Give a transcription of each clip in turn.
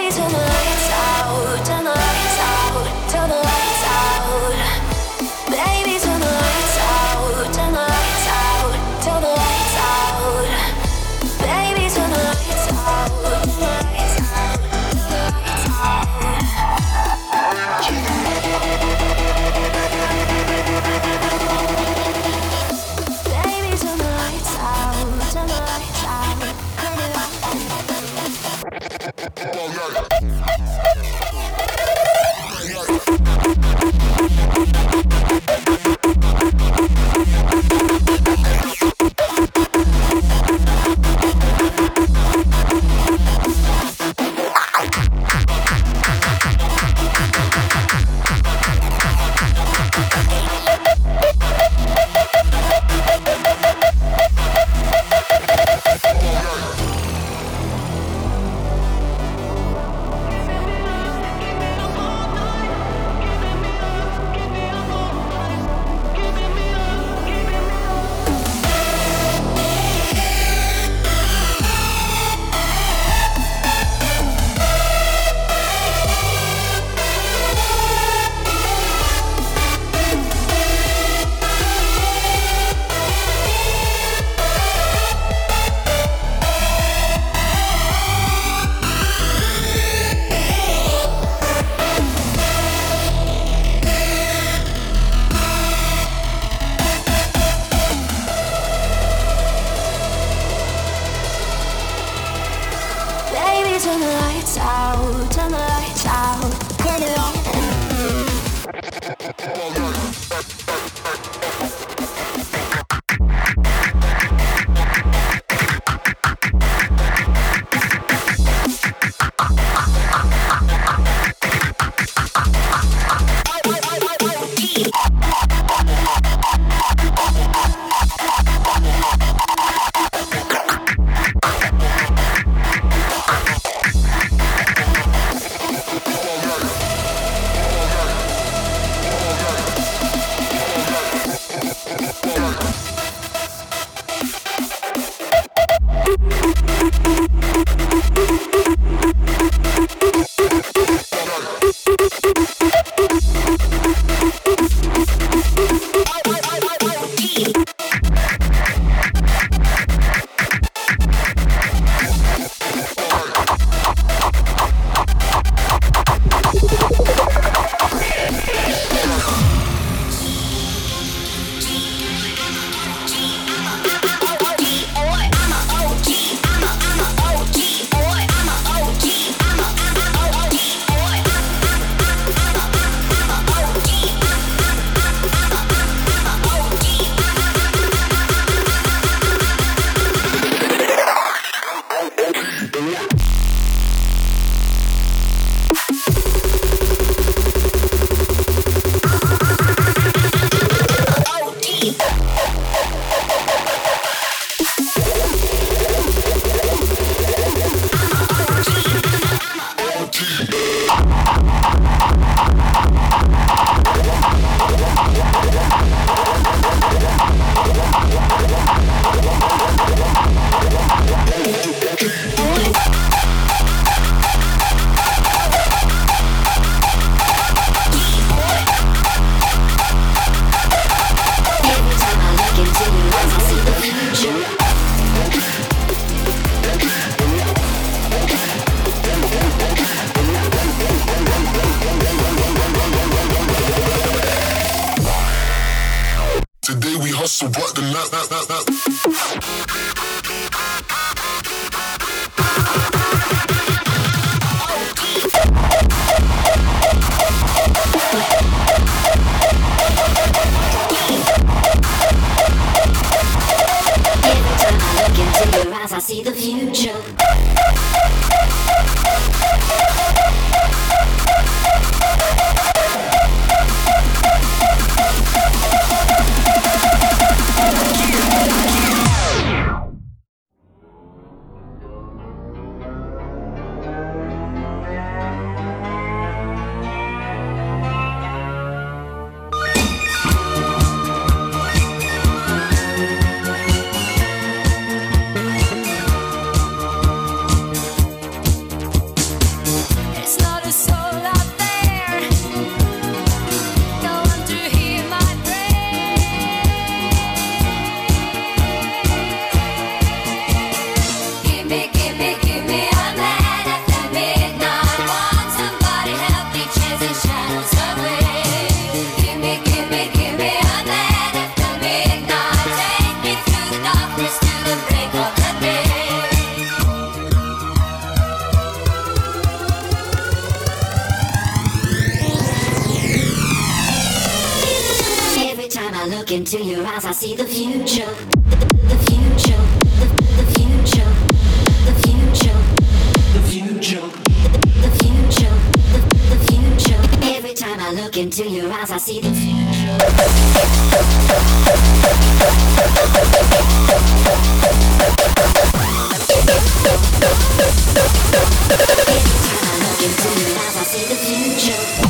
So what the I see the future. look into your eyes, I see the future. The future. The future. The future. The future. The future. The future. Every time I look into your eyes, I see the future. Into your eyes, I see the future.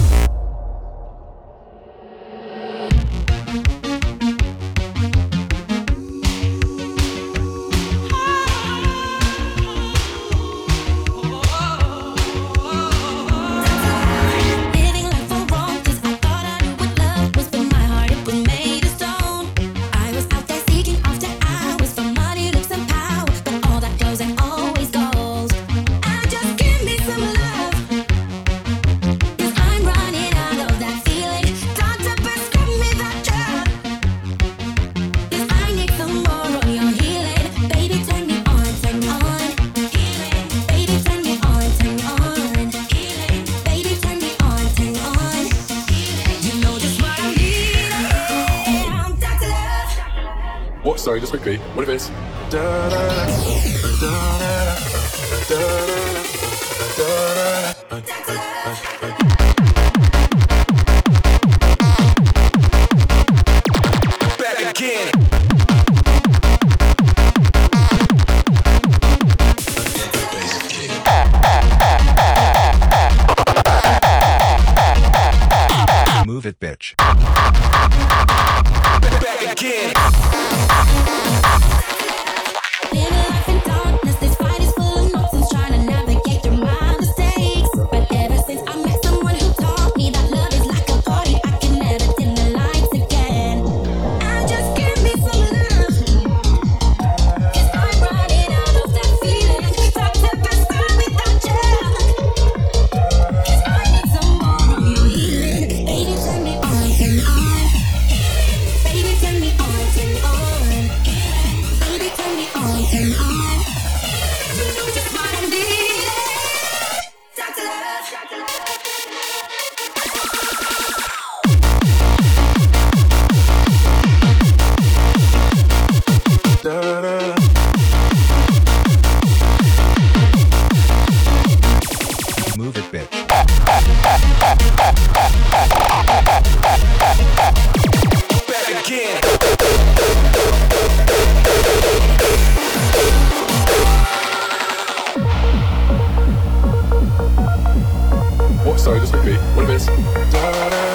Sorry, just quickly. What if it's back again? Move it, bitch. Back again. Living life in darkness, this fight is full of nonsense, trying to navigate through my mistakes. But ever since I met someone who taught me that love is like a party, I can never dim the lights again. And just give me some love, 'cause I'm running out of that feeling. Try to pass by without you, 'cause I need some more of your healing. Baby, turn me on, turn on. Baby, turn me on, turn on. Baby, turn me on, turn on. You know just what I need. Dr. Love, Dr. Love. Move it, bitch. Back again. What? Sorry, just quickly. What if it's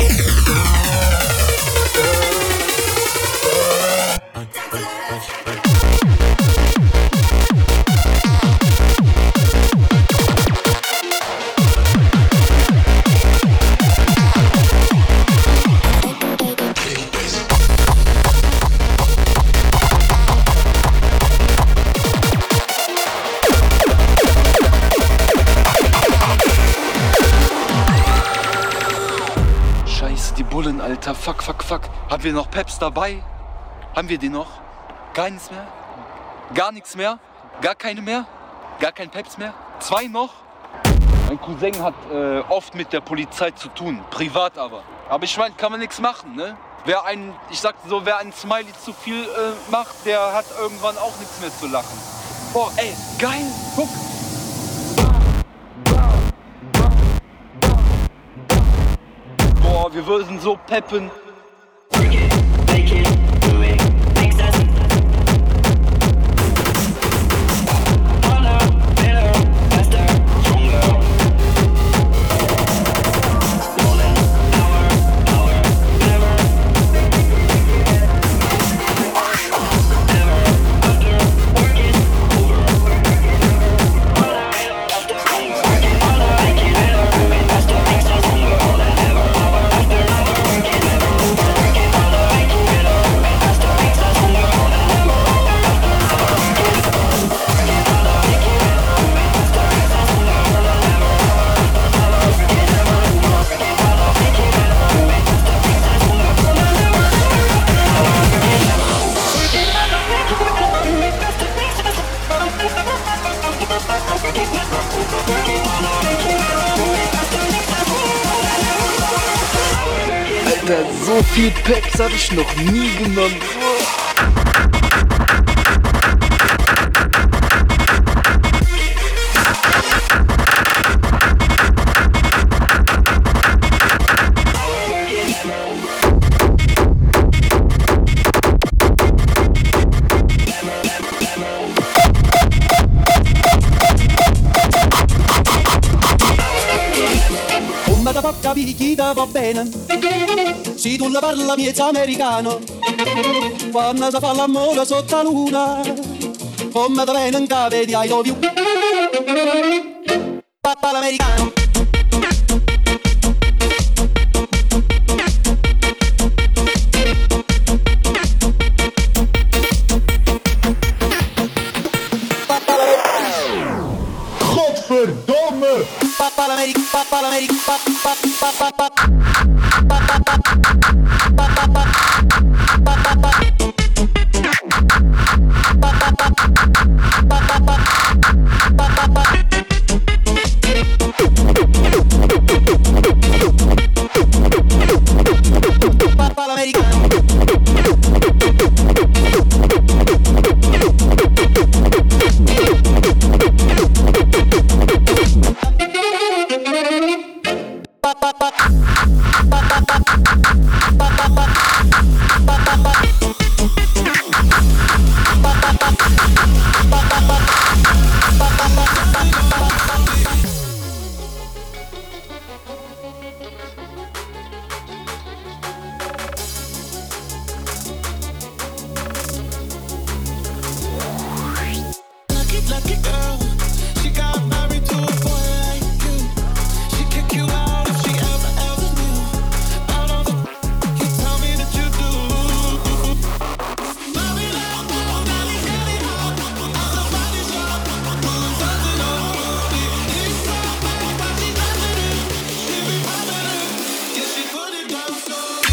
Scheiße, die Bullen, Alter. Fuck. Haben wir noch Peps dabei? Haben wir die noch? Gar nichts mehr? Gar nichts mehr? Gar keine mehr? Gar kein Peps mehr? 2 noch? Mein Cousin hat oft mit der Polizei zu tun, privat aber. Aber ich meine, kann man nichts machen, ne? Wer ein Smiley zu viel macht, der hat irgendwann auch nichts mehr zu lachen. Boah, ey, geil, guck. Boah, wir würden so peppen. Alter, so viel Peps habe ich noch nie genommen. Come da può capire chi ti va bene, se tu la parla miezza americano, quando si fa l'amore sotto la luna, come da bene in cave di I love you, papà l'americano. Godverdomme! Papa l'Amérique, papa l'Amérique, papa, papa, papa, papa l'americano. Lucky girl, she got married to a boy like you. She kick you out if she ever knew. Out of the you tell me that you do. Mommy love, daddy daddy love, all the body shop, something on booty. It's so bad, but she loving it. She be popping it, yeah she put it down slowly.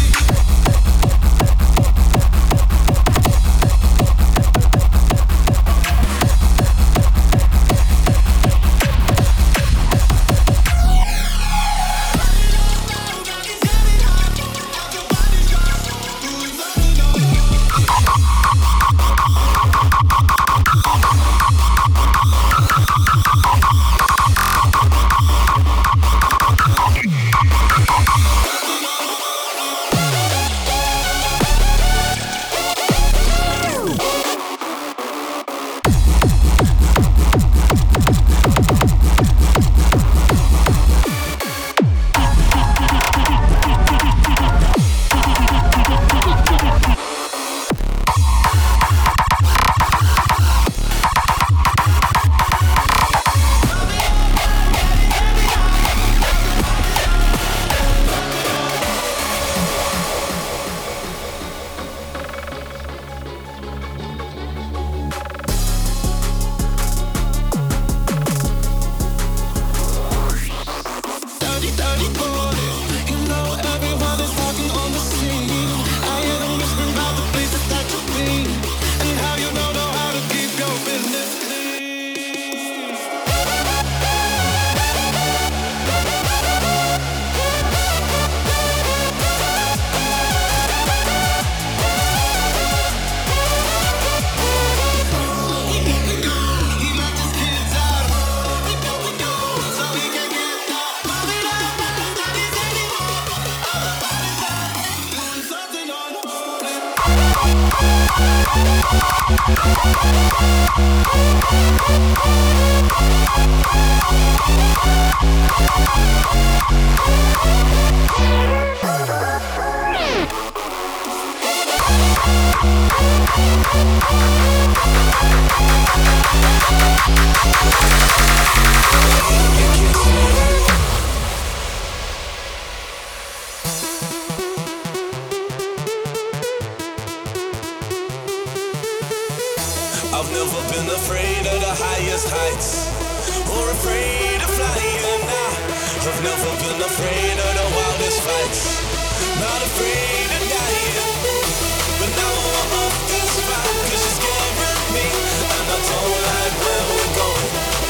I've never been afraid of the highest heights or afraid of flying now. I've never been afraid of the wildest fights, not afraid of dying. But now I'm off this ride 'cause you're scaring me, and I don't like where we're going.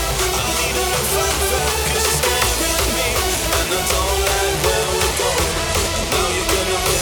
I need a new fight back 'cause you're scaring me, and I don't like where we're going. Now you're gonna miss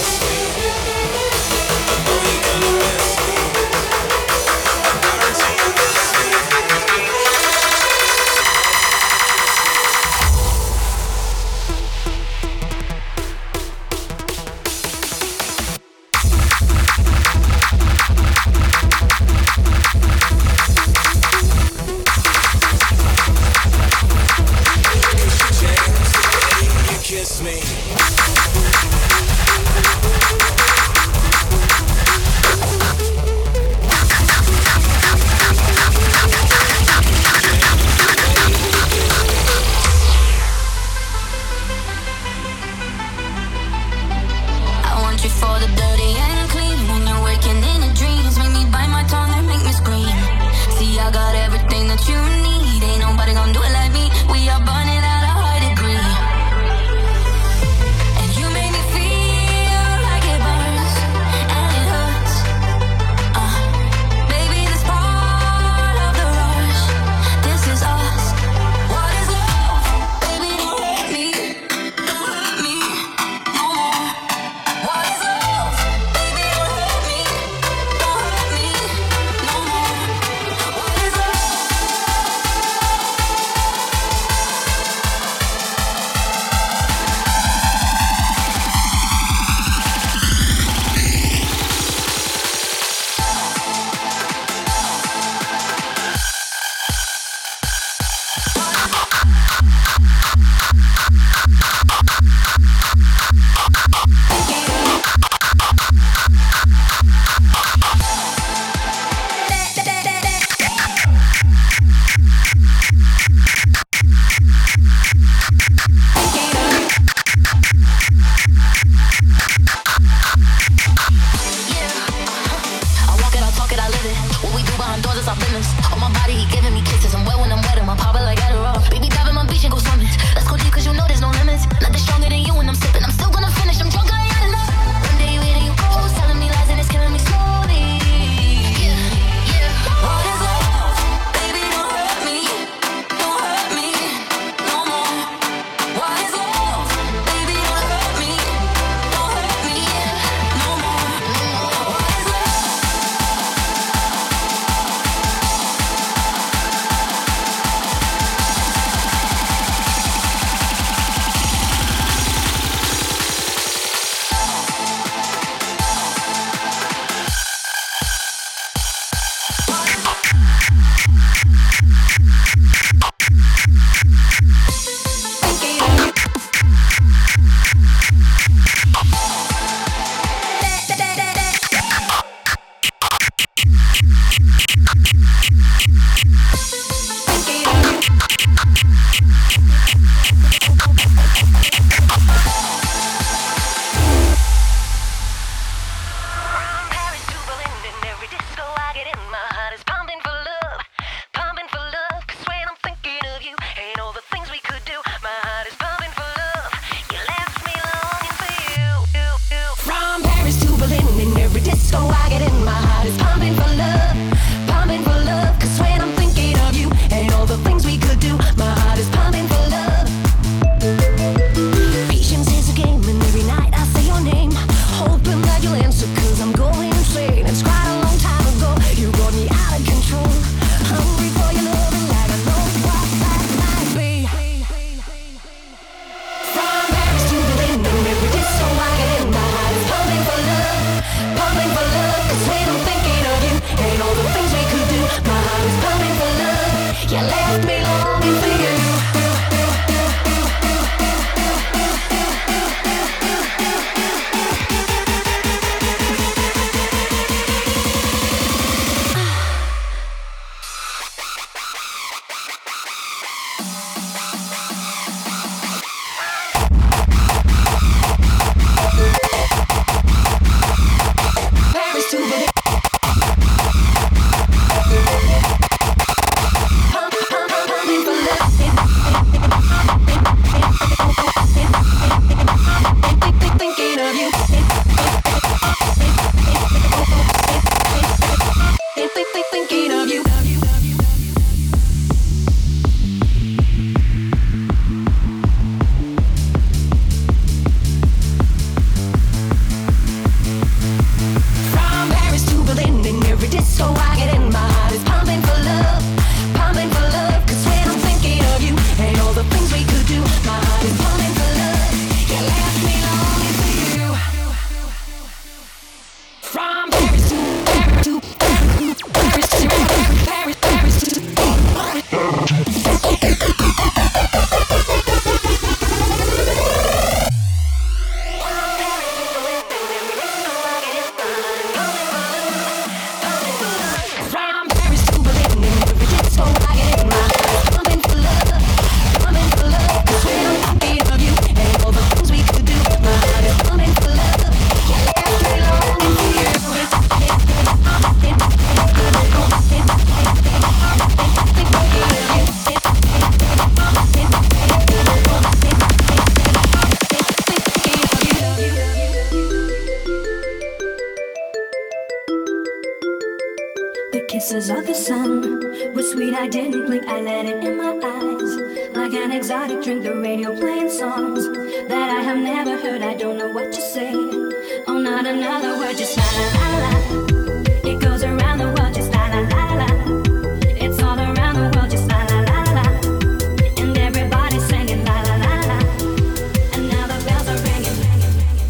Kisses of the sun were sweet, I didn't blink, I let it in my eyes. Like an exotic drink, the radio playing songs that I have never heard, I don't know what to say. Oh, not another word, just la la la la. It goes around the world, just la la la la. It's all around the world, just la la la la. And everybody's singing la la la la. And now the bells are ringing, ringing, ringing.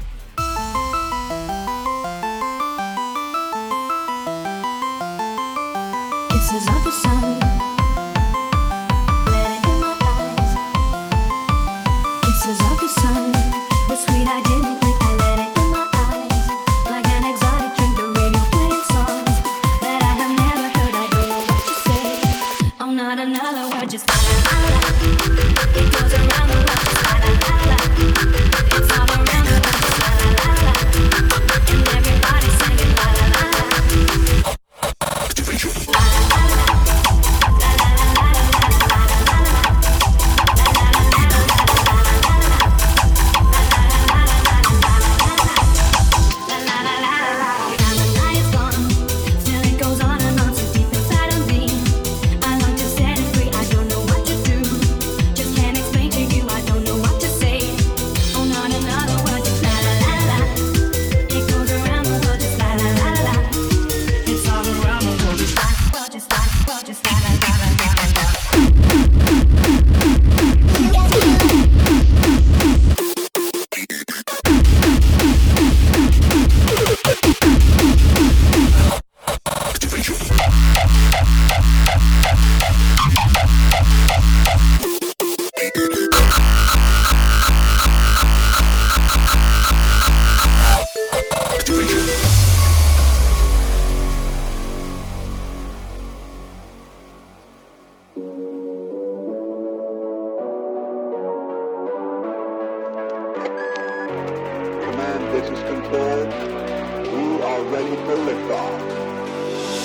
Kisses of the sun, let it in my eyes. Kisses of the sun were sweet, I didn't blink, I let it in my eyes. Like an exotic drink, the radio playing songs that I have never heard, I don't know what to say. Oh, not another word, just la la la la. It goes around the world, just la la la la. It's all around the world, just la la la la. And everybody's singing la la la la. Command, this is Control. We are ready for liftoff.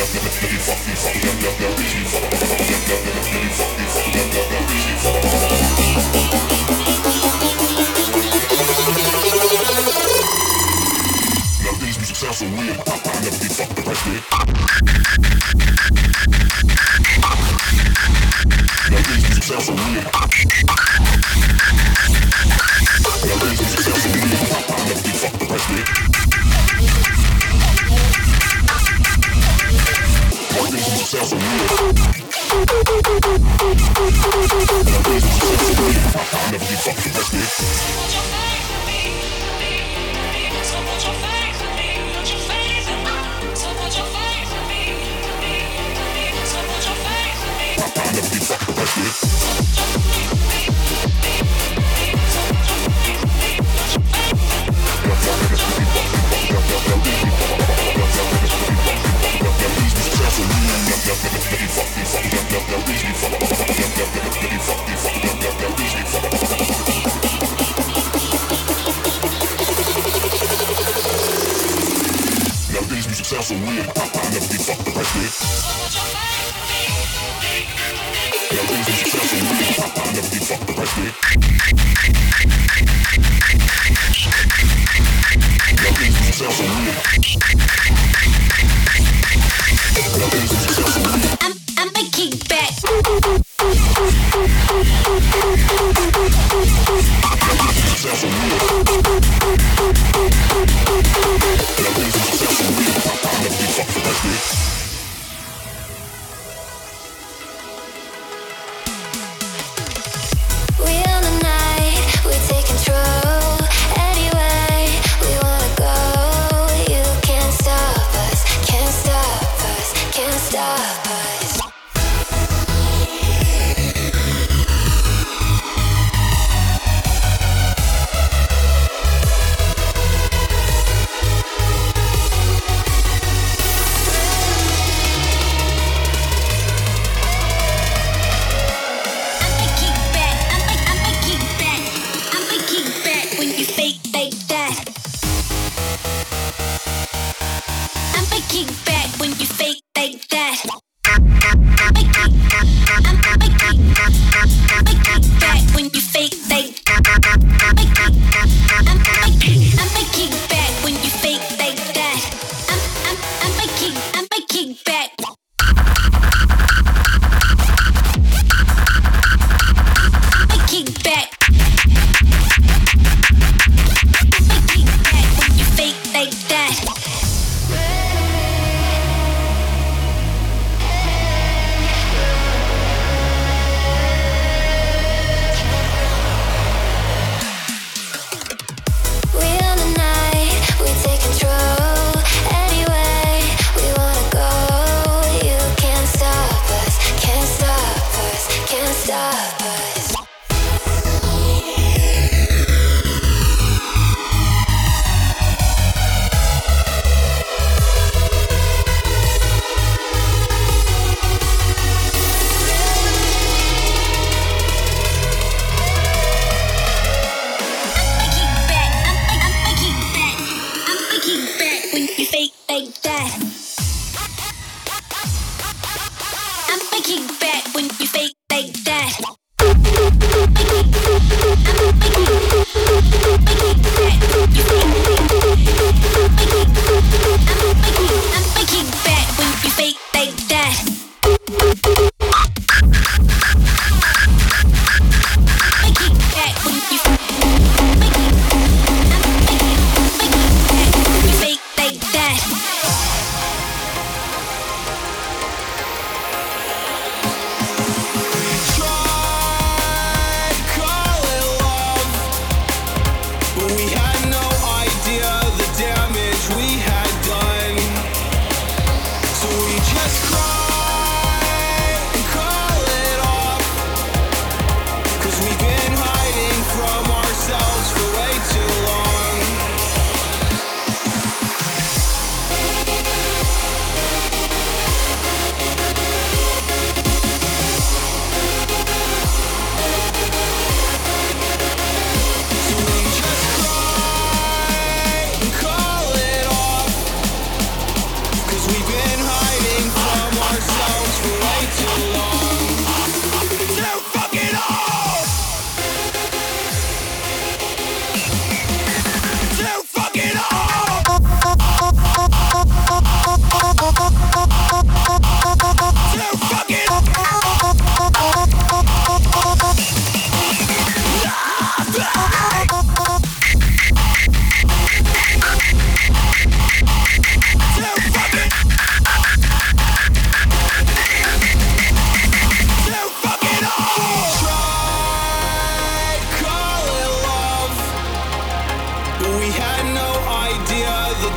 Fuck sound so weird. I never get fucked the rest of it. Nowadays music sounds so weird. Nowadays music sounds so weird. I never get fucked the rest of it. Nowadays music sounds so weird. Nowadays music sounds so weird. I never get fucked the rest of it. Nowadays music sounds so weird. I never get fucked the rest of it. Nowadays music sounds so weird. I never get fucked the rest of it. Nowadays music sounds so weird. Nowadays music sounds so weird. I'm a kickback. Nowadays music sounds so weird. Nowadays music sounds so weird. I never get fucked the rest of it. We on the night, we take control. Anyway, we wanna go. You can't stop us, can't stop us, can't stop us.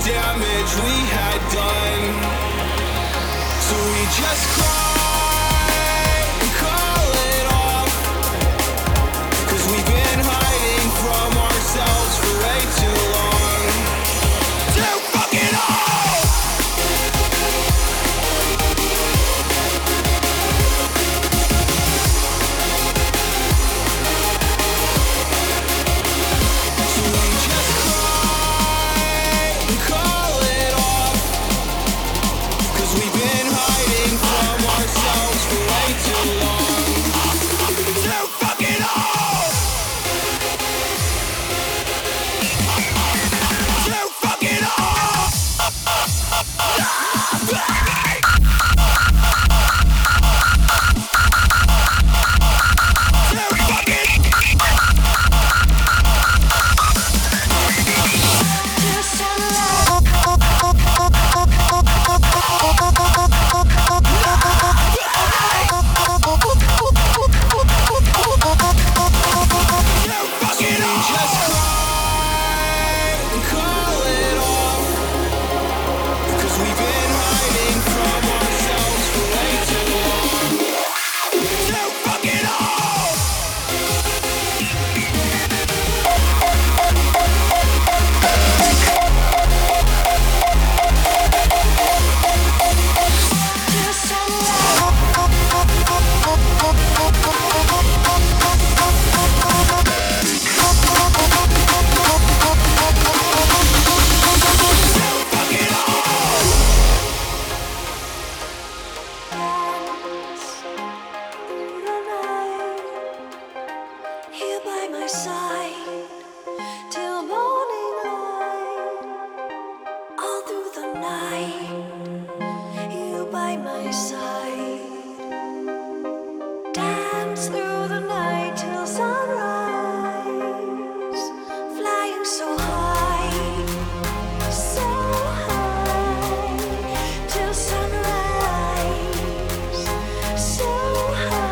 damage we had done. So we just cry and call it off. 'Cause we've been hiding from ourselves for way too long. So fuck it all! So we just cry and call it off. 'Cause we've been hiding from ourselves for way too long. So fuck it all! So fuck it all! Here by my side till morning light, all through the night. You by my side, dance through the night till sunrise, flying so high till sunrise, so high.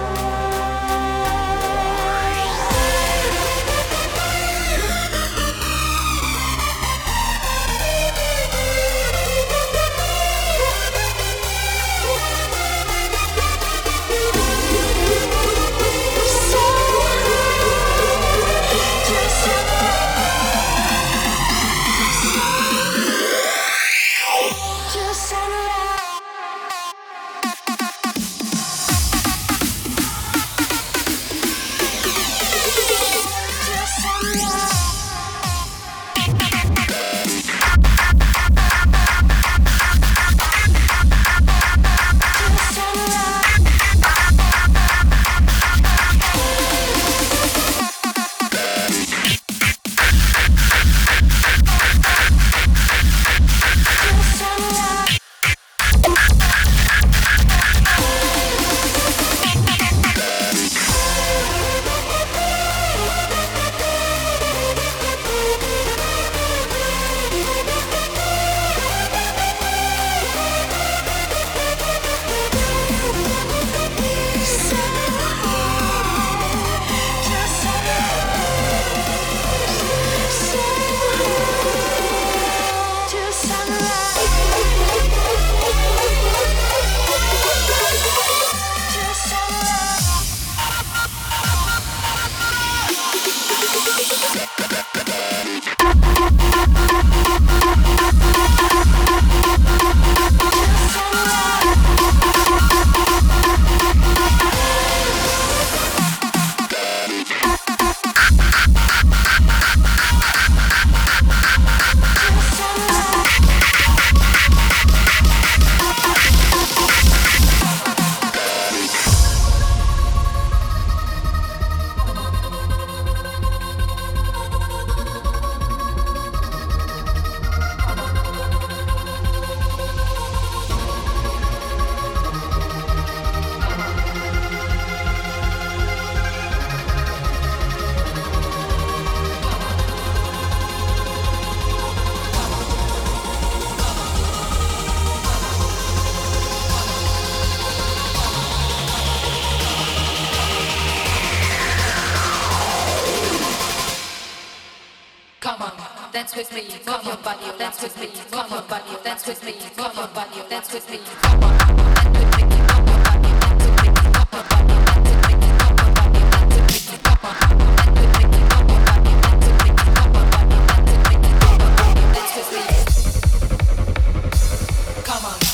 dance with me, come on, body, dance with me, come on, body, dance with me, come on, body, dance with me, come on, dance with me, come on, body, dance with me, come on, body, dance with me, come on, body, dance with me, come on, body, dance with me, come on, dance with me, come on, body, dance with me, come on, body, dance with me, come on, body, dance with me, come on.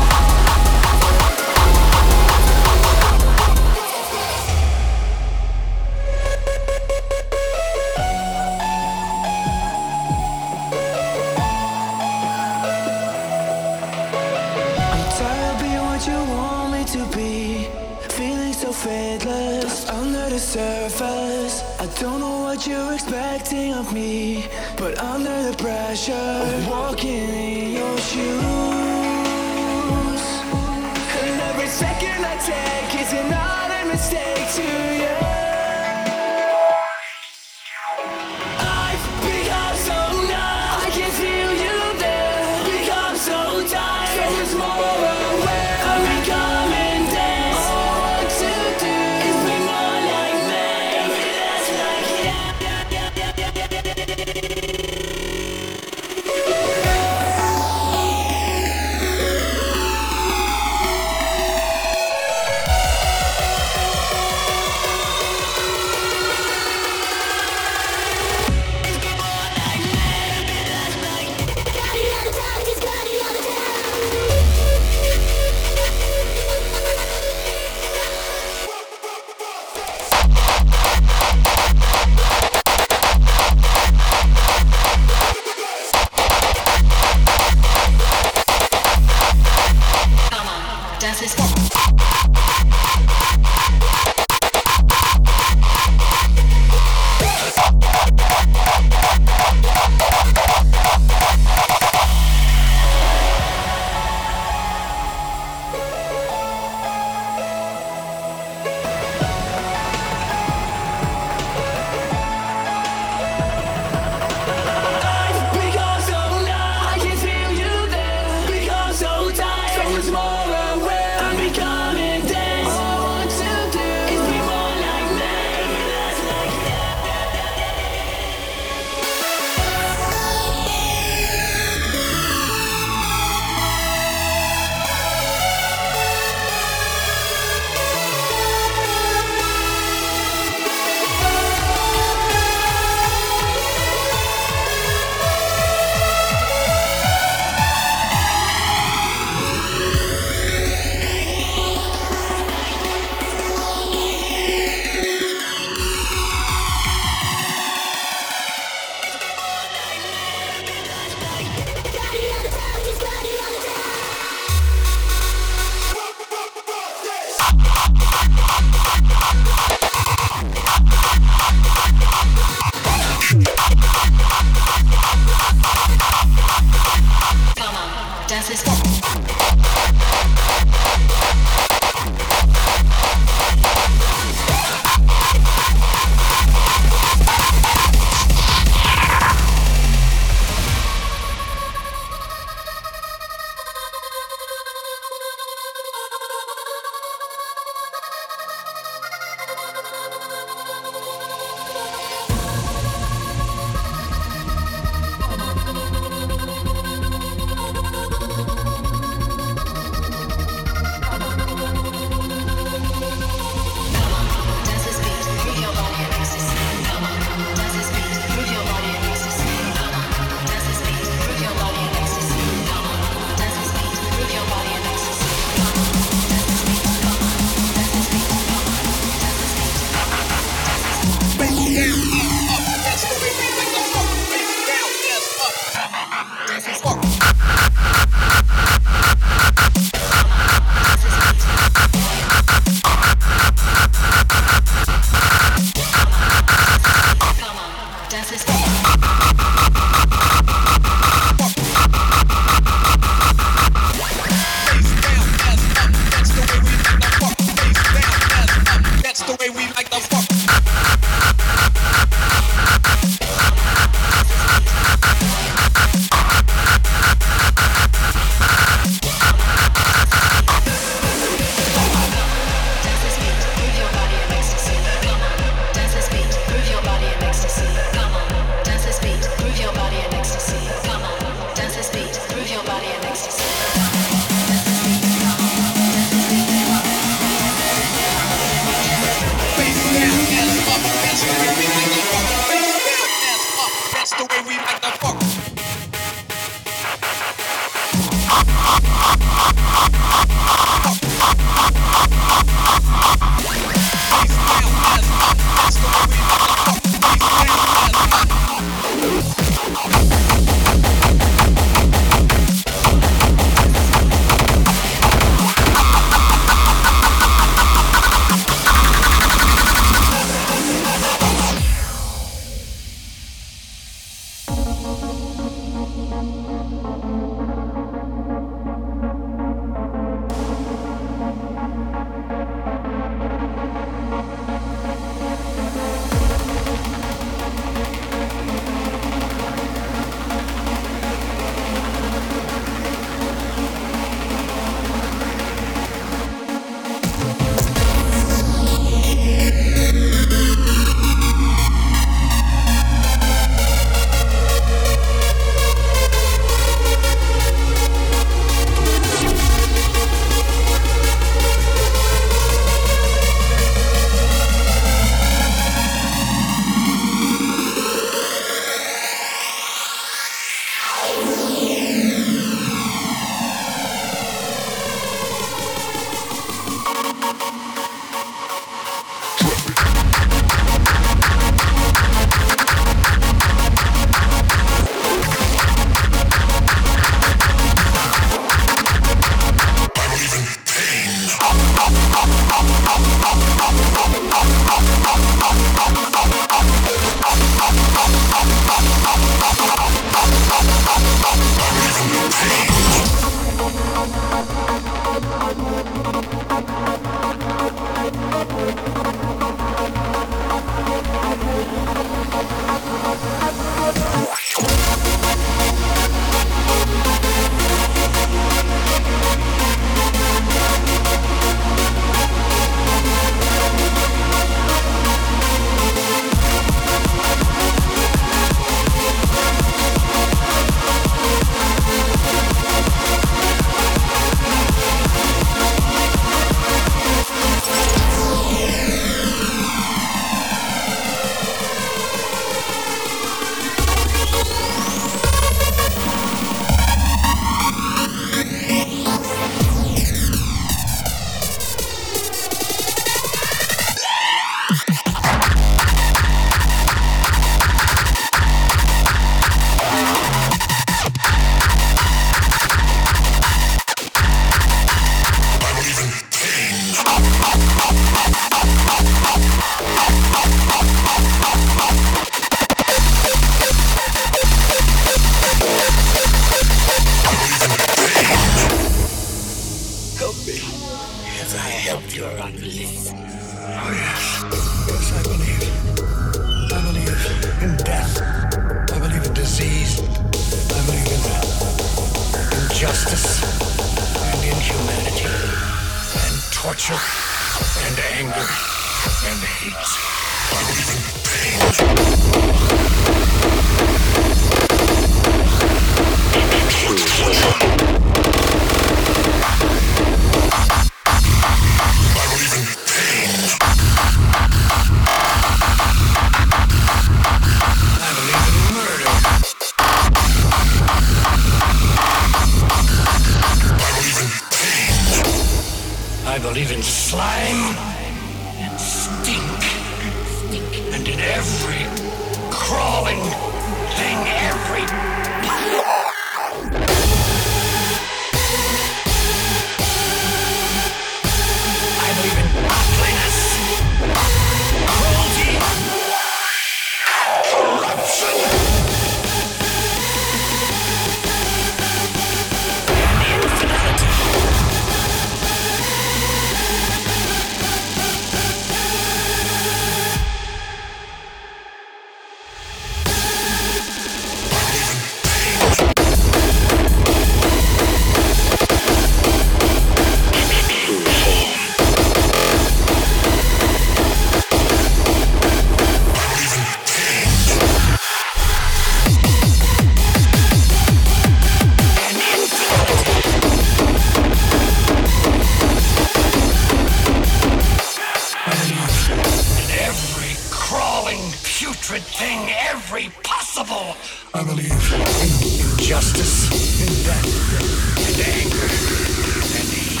justice, in death, and anger, and hate.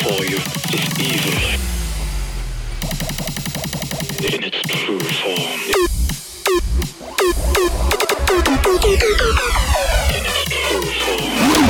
before you is evil in its true form. In its true form.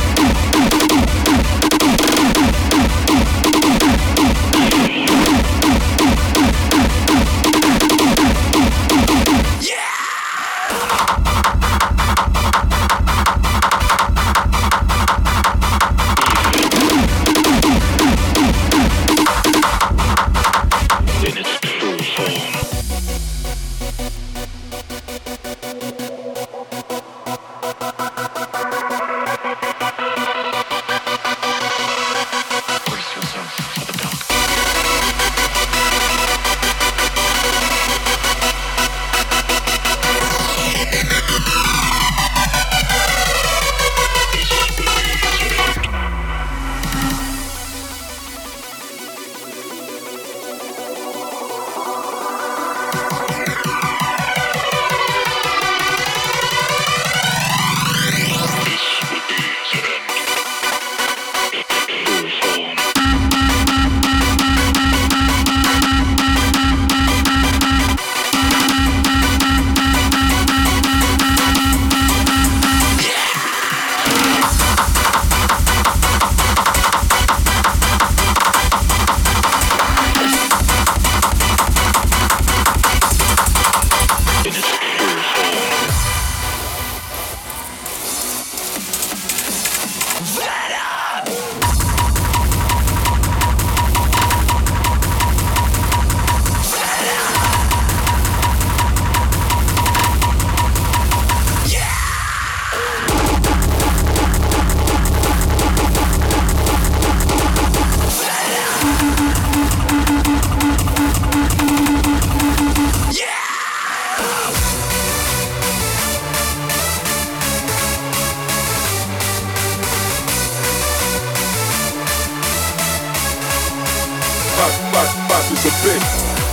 Is a bitch.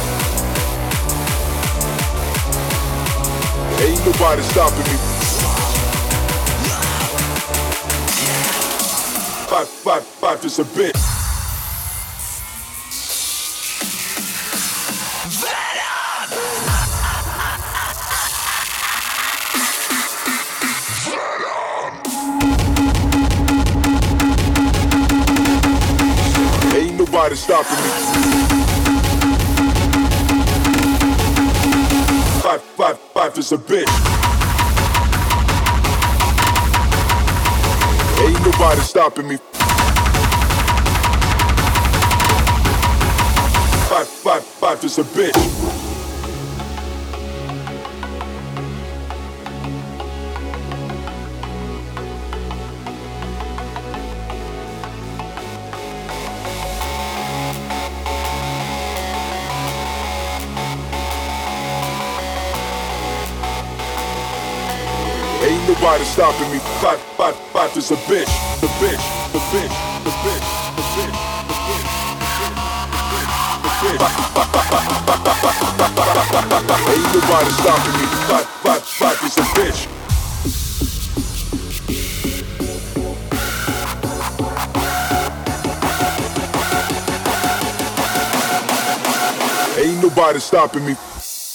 Ain't nobody stopping me. Five is a bitch. Ain't nobody stopping me. Five is a bitch. Ain't nobody stopping me. Five is a bitch. Ain't nobody stopping me. Five is a bitch. The bitch. The bitch. The bitch. The bitch. The bitch. Ain't nobody stopping me. Five is a bitch. Ain't nobody stopping me.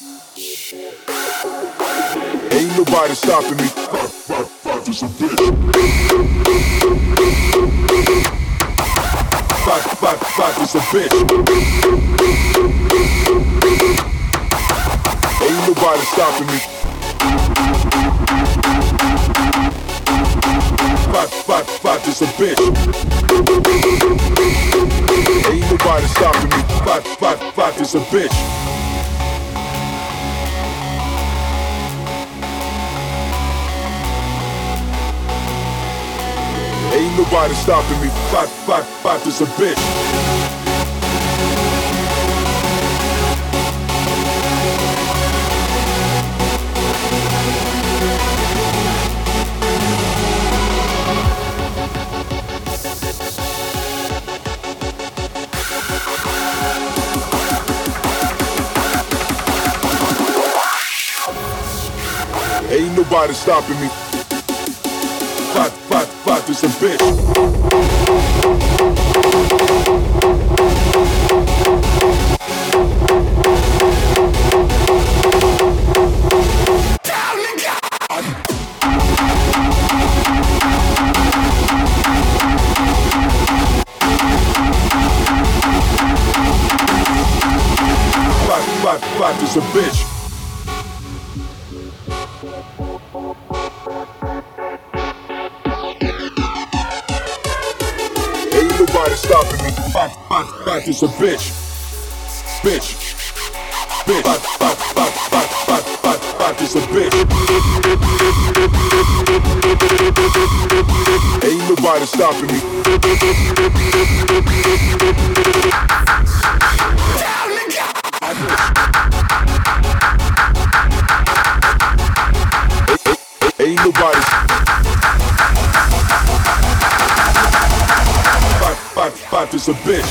Ain't nobody stopping me. Five is a bitch. Five is a bitch. Ain't nobody stopping me. Five is a bitch. Ain't nobody stopping me. Five is a bitch. Ain't nobody stopping me. Five is a bitch. Ain't nobody stopping me. Five is a bitch. stopping me. Bad is a bitch. Bitch. Bitch. Bad is a bitch. Ain't nobody stopping me. Ain't nobody. Bad is a bitch.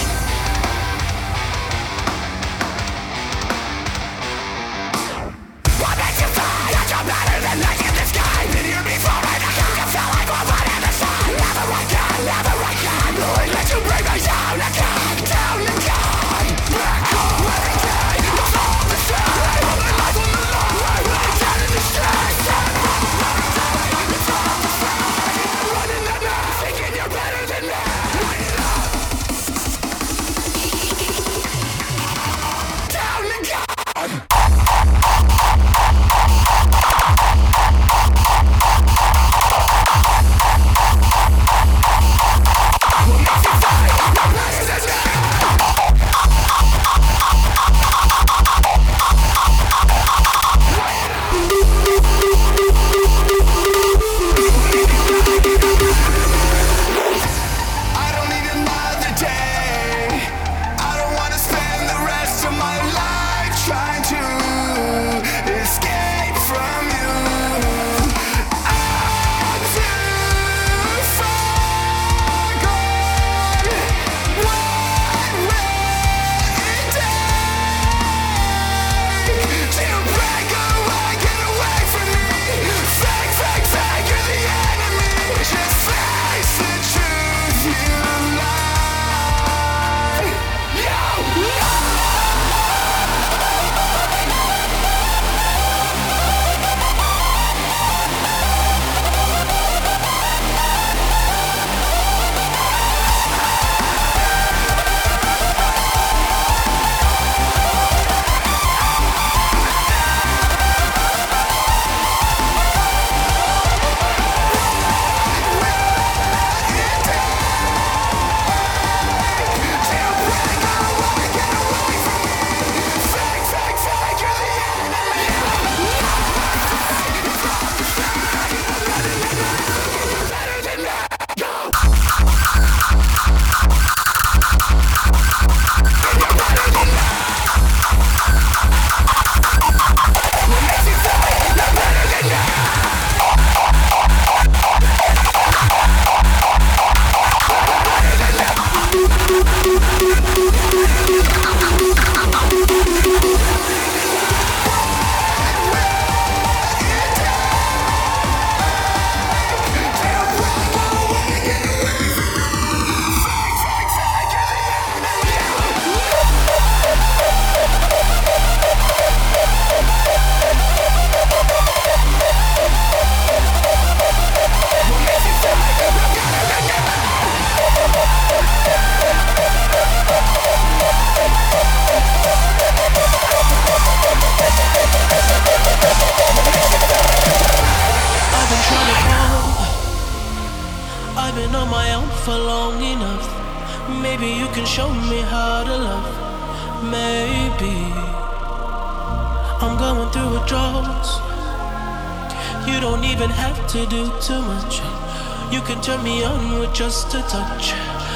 Turn me on with just a touch,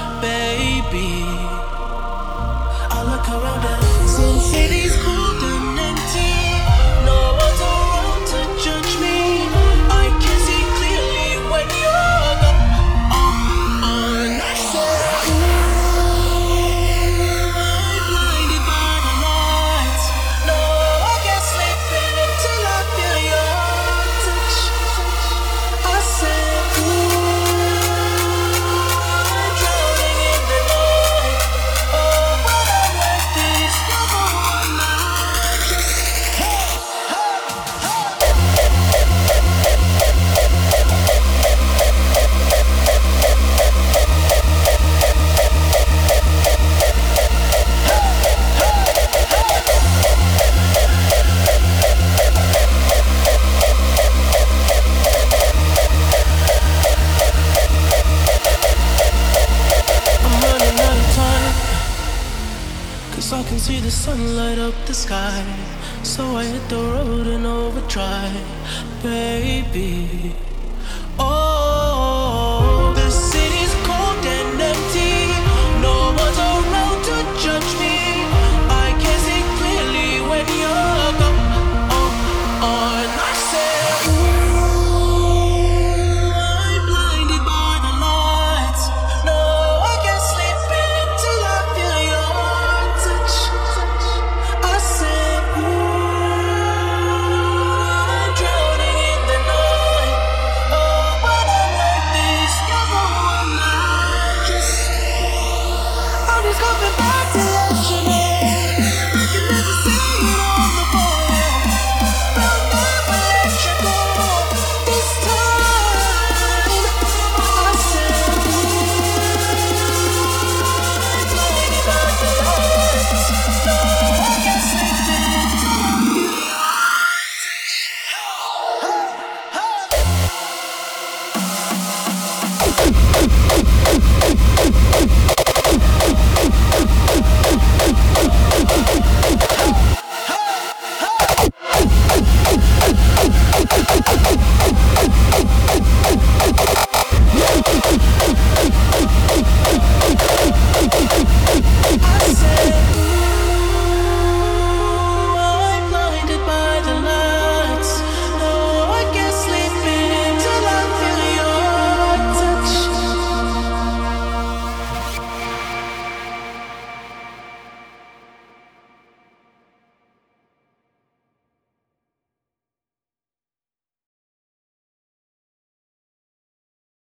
baby. I look around and some cities cold and empty. No one's around to judge me. I can see clearly when you're gone. I said, blinded by the lights. No, I can't sleep until I feel your touch. I said, drowning in the night. Oh, but I'm like this, never one night. the sun light up the sky, so I hit the road in overdrive, baby.